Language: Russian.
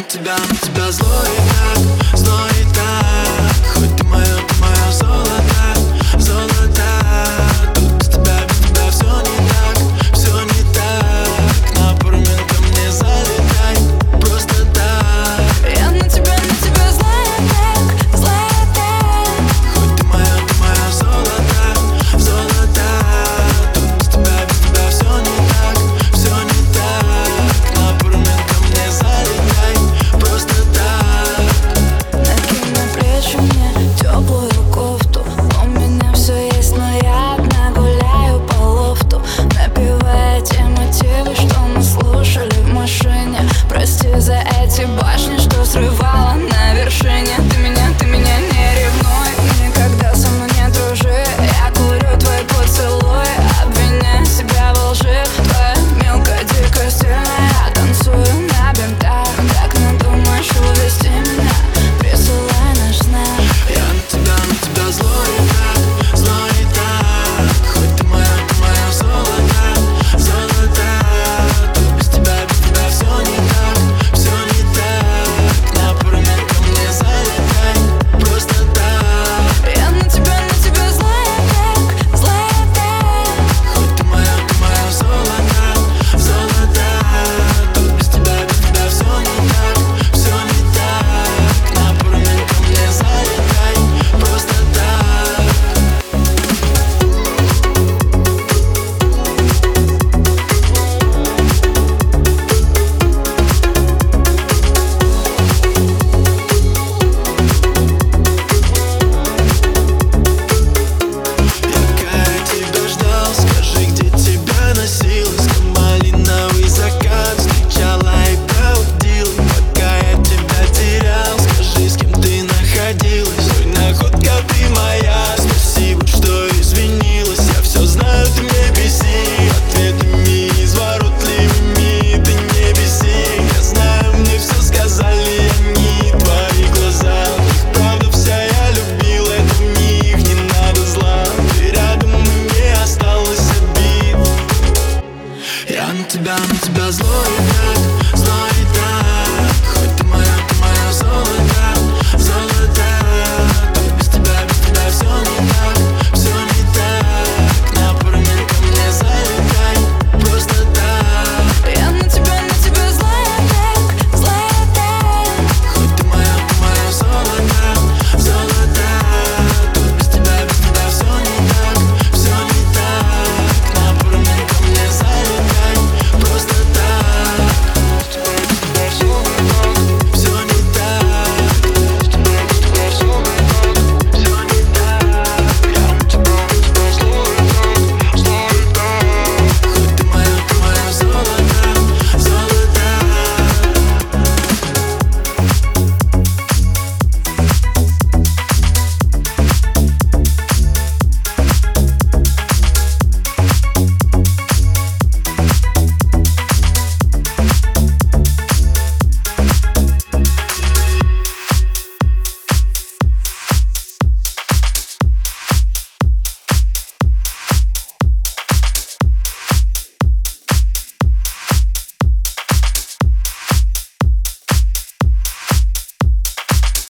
на тебя злой и так. Хоть ты мое золото, золото. Тут без тебя все не так. На пару минут ко мне залетай, просто так. Я на тебя злая так. Хоть ты мое золото, золото. Тут без тебя все не так. На пару минут ко мне залетай, просто так. Накинь на плечи мне теплую кофту. У меня все есть, но я одна гуляю по лофту, напевая те мотивы, что мы слушали в машине. Прости за эти башни, что срывала на вершине. Ты меня не ревнуй, никогда со мной не дружи. Я курю твой поцелуй, обвиняя себя во лжи. Твоя мелкая, дикая, стильная, танцую на бинтах. Как надумаешь увести меня, присылай наш знак. Я на тебя злой и так. Хоть ты мое золото, золото. Тут без тебя все не так. На пару минут ко мне залетай, просто так. Я на тебя злая так. Хоть ты мое золото, золото. Тут без тебя все не так. На пару минут ко мне залетай, просто так. Я тебя ждал, скажи, где тебя носилась. Как малиновый закат встречала и проводила. Пока я тебя терял, скажи, с кем ты находилась. Ой, находка ты моя, спасибо, что извинилась. Я все знаю, ты мне беси ответами изворотливыми, ты не беси. Я знаю, мне все сказали они, твои глаза. Их правда вся, я любил, это в них не надо зла. Ты рядом, и мне осталось обид. Я на тебя злой и так.